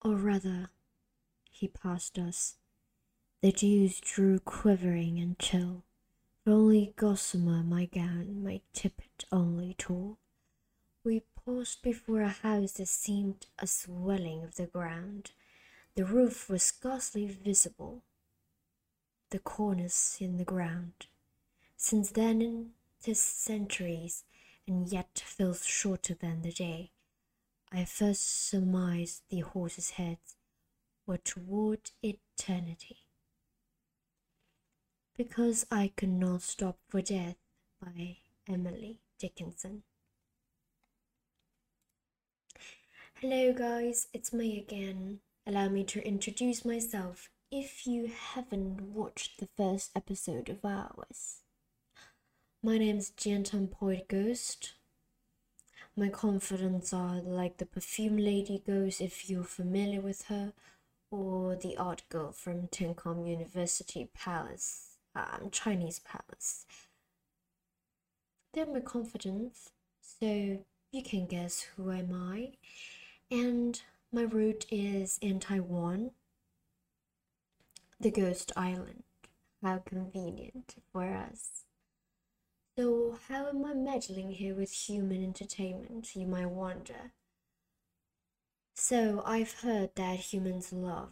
or rather, he passed us. The dews drew quivering and chill, for only gossamer my gown, my tippet only tall. We paused before a house that seemed a swelling of the ground. The roof was scarcely visible, the cornice in the ground. Since then 'tis centuries, and yet feels shorter than the day. I first surmised the horses' heads were toward eternity. Because I Could Not Stop for Death by Emily Dickinson. Hello guys, it's me again. Allow me to introduce myself if you haven't watched the first episode of ours. My name's Jiantan Poet Ghost. My confidants are like the perfume lady ghost if you're familiar with her, or the art girl from Tencom University Palace, Chinese Palace. They're my confidants, so you can guess who am I. And my route is in Taiwan, the Ghost Island. How convenient for us. So how am I meddling here with human entertainment, you might wonder? So I've heard that humans love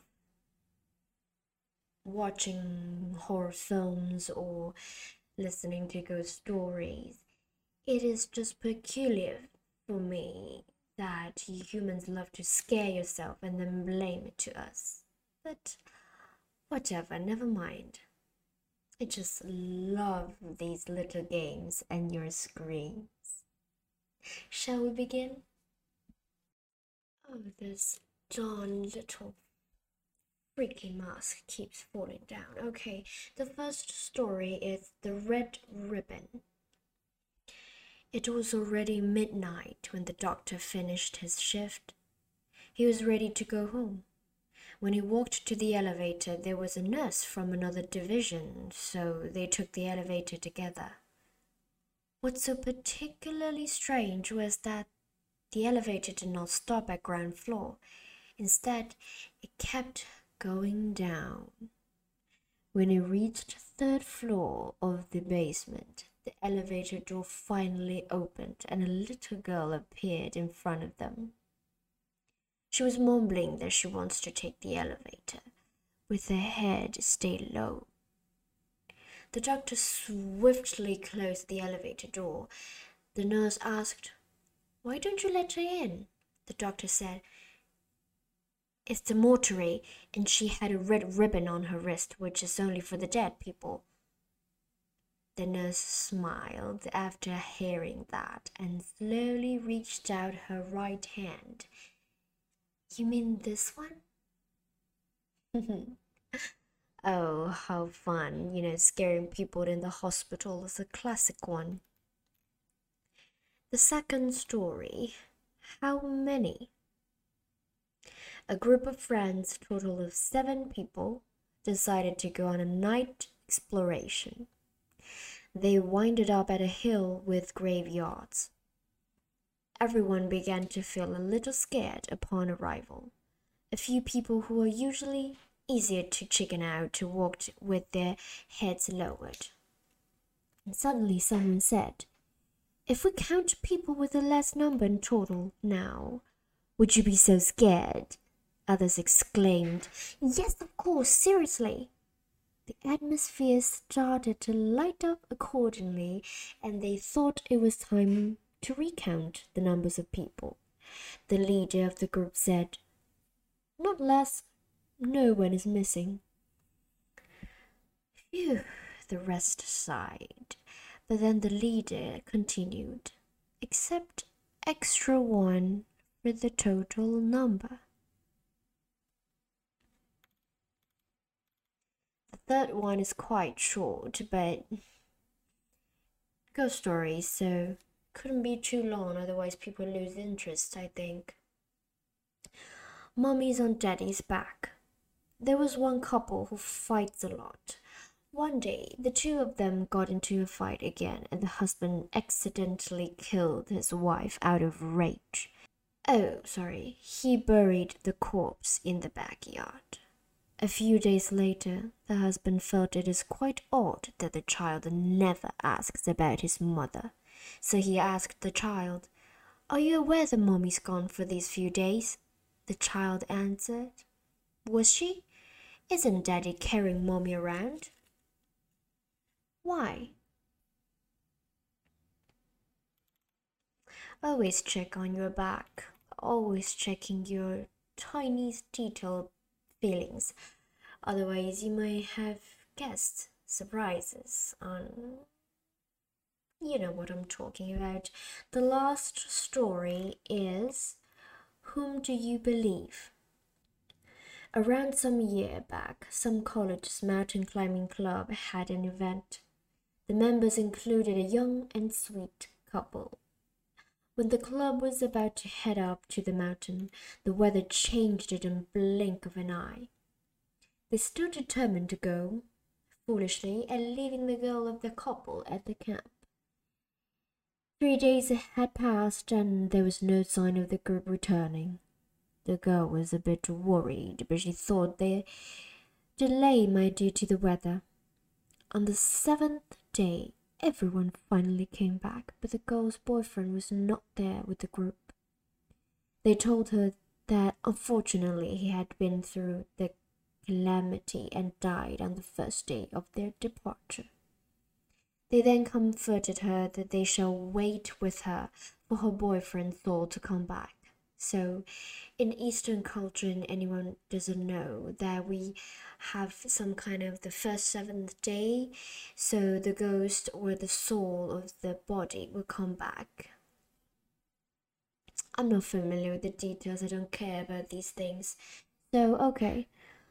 watching horror films or listening to ghost stories. It is just peculiar for me that you humans love to scare yourself and then blame it to us. But whatever, never mind. I just love these little games and your screams. Shall we begin? Oh, this darn little freaky mask keeps falling down. Okay, the first story is The Red Ribbon. It was already midnight when the doctor finished his shift. He was ready to go home. When he walked to the elevator, there was a nurse from another division, so they took the elevator together. What's so particularly strange was that the elevator did not stop at ground floor. Instead, it kept going down. When it reached the third floor of the basement, the elevator door finally opened and a little girl appeared in front of them. She was mumbling that she wants to take the elevator, with her head stayed low. The doctor swiftly closed the elevator door. The nurse asked, "Why don't you let her in?" The doctor said, "It's the mortuary, and she had a red ribbon on her wrist, which is only for the dead people." The nurse smiled after hearing that and slowly reached out her right hand. "You mean this one?" Oh, how fun. Scaring people in the hospital is a classic one. The second story, How Many? A group of friends, total of 7 people, decided to go on a night exploration. They winded up at a hill with graveyards. Everyone began to feel a little scared upon arrival. A few people who are usually easier to chicken out walked with their heads lowered. And suddenly someone said, "If we count people with a less number in total now, would you be so scared?" Others exclaimed, "Yes, of course, seriously." The atmosphere started to light up accordingly, and they thought it was time to recount the numbers of people. The leader of the group said, "Not less. No one is missing." Phew, the rest sighed. But then the leader continued, "Except extra one for the total number." The third one is quite short, but ghost stories, so couldn't be too long, otherwise people lose interest, I think. Mummy's on Daddy's back. There was one couple who fights a lot. One day, the two of them got into a fight again, and the husband accidentally killed his wife out of rage. Oh, sorry, he buried the corpse in the backyard. A few days later, the husband felt it is quite odd that the child never asks about his mother. So he asked the child, "Are you aware that mommy's gone for these few days?" The child answered, "Was she? Isn't daddy carrying mommy around?" "Why?" Always check on your back. Always checking your tiniest detailed feelings. Otherwise, you might have guest surprises on. You know what I'm talking about. The last story is Whom Do You Believe? Around some year back, some college's mountain climbing club had an event. The members included a young and sweet couple. When the club was about to head up to the mountain, the weather changed in a blink of an eye. They stood determined to go, foolishly, and leaving the girl of the couple at the camp. 3 days had passed, and there was no sign of the group returning. The girl was a bit worried, but she thought the delay might be due to the weather. On the 7th day, everyone finally came back, but the girl's boyfriend was not there with the group. They told her that unfortunately he had been through the calamity and died on the first day of their departure. They then comforted her that they shall wait with her for her boyfriend's soul to come back. So, in Eastern culture, and anyone doesn't know that we have some kind of the first seventh day, so the ghost or the soul of the body will come back. I'm not familiar with the details. I don't care about these things. So, okay.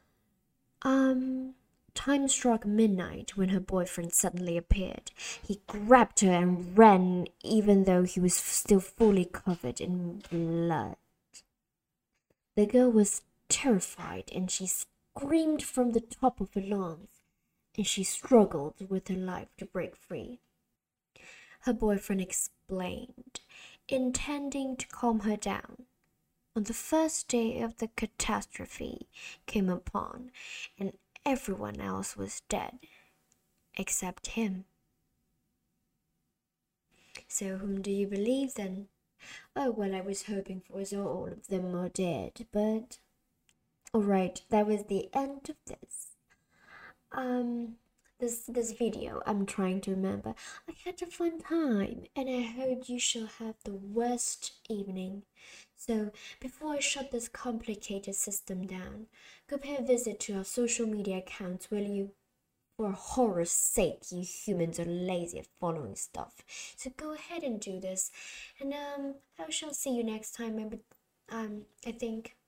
Time struck midnight when her boyfriend suddenly appeared. He grabbed her and ran, even though he was still fully covered in blood. The girl was terrified and she screamed from the top of her lungs, and she struggled with her life to break free. Her boyfriend explained, intending to calm her down. On the first day of the catastrophe came upon, and everyone else was dead, except him. So whom do you believe then? Oh, well, I was hoping for so all of them are dead, but... Alright, that was the end of this. This video, I'm trying to remember. I had a fun time, and I hope you shall have the worst evening. So, before I shut this complicated system down, go pay a visit to our social media accounts, will you? For horror's sake, you humans are lazy at following stuff. So go ahead and do this. And I shall see you next time. I think